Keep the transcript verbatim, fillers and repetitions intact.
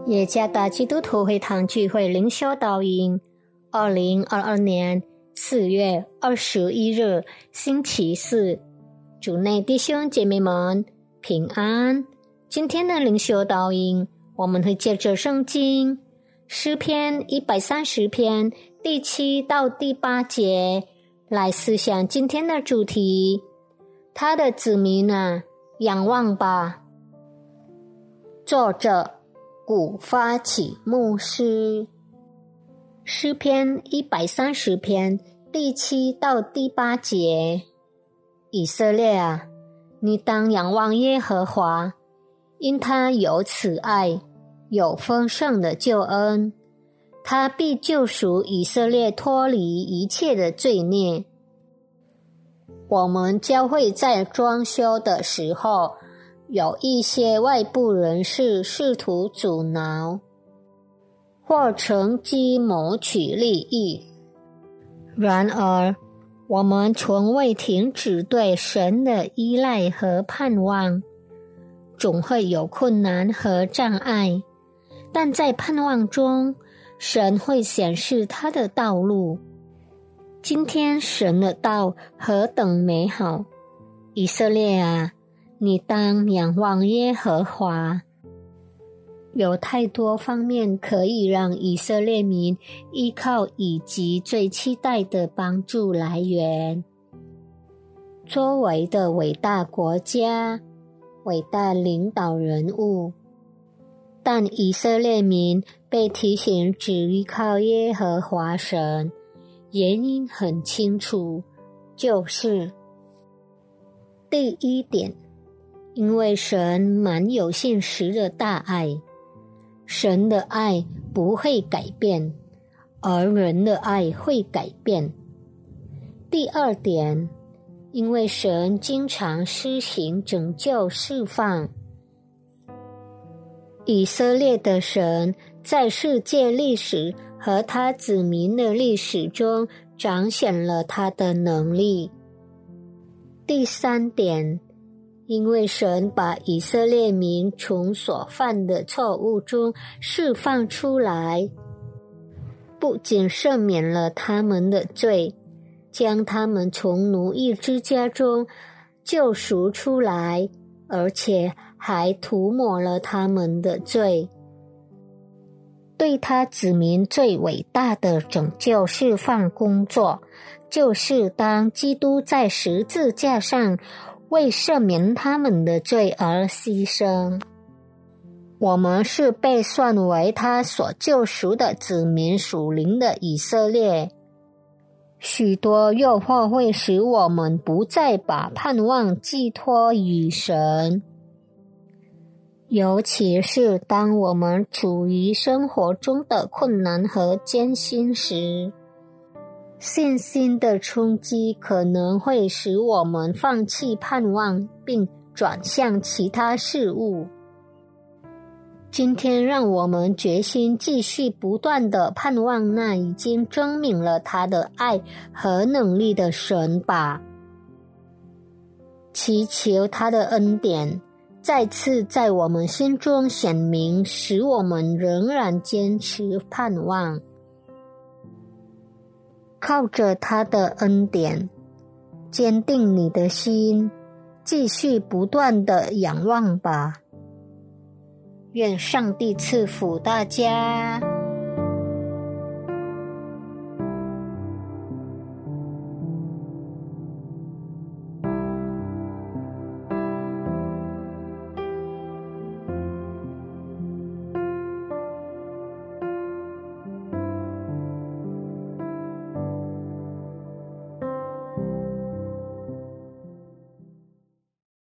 耶加达基督徒会堂聚会灵修导引，二零二二年四月二十一日星期四，主内弟兄姐妹们平安。今天的灵修导引，我们会借着圣经诗篇一百三十篇第七到第八节来思想今天的主题，他的子民啊，仰望吧。作者古发起牧师，诗篇一百三十篇第七到第八节，以色列啊，你当仰望耶和华，因他有慈爱，有丰盛的救恩，他必救赎以色列脱离一切的罪孽。我们教会在装修的时候，有一些外部人士试图阻挠或乘机谋取利益，然而我们从未停止对神的依赖和盼望。总会有困难和障碍，但在盼望中，神会显示他的道路。今天神的道何等美好！以色列啊，你当仰望耶和华。有太多方面可以让以色列民依靠以及最期待的帮助来源。作为的伟大国家，伟大领导人物，但以色列民被提醒只依靠耶和华神，原因很清楚，就是第一点，因为神满有信实的大爱，神的爱不会改变，而人的爱会改变。第二点，因为神经常施行拯救释放，以色列的神在世界历史和他子民的历史中彰显了他的能力。第三点，因为神把以色列民从所犯的错误中释放出来，不仅赦免了他们的罪，将他们从奴役之家中救赎出来，而且还涂抹了他们的罪。对他子民最伟大的拯救释放工作，就是当基督在十字架上为赦免他们的罪而牺牲。我们是被算为他所救赎的子民属灵的以色列。许多诱惑会使我们不再把盼望寄托于神，尤其是当我们处于生活中的困难和艰辛时，信心的冲击可能会使我们放弃盼望，并转向其他事物。今天让我们决心继续不断地盼望那已经证明了他的爱和能力的神吧，祈求他的恩典再次在我们心中显明，使我们仍然坚持盼望。靠着他的恩典，坚定你的心，继续不断地仰望吧。愿上帝赐福大家。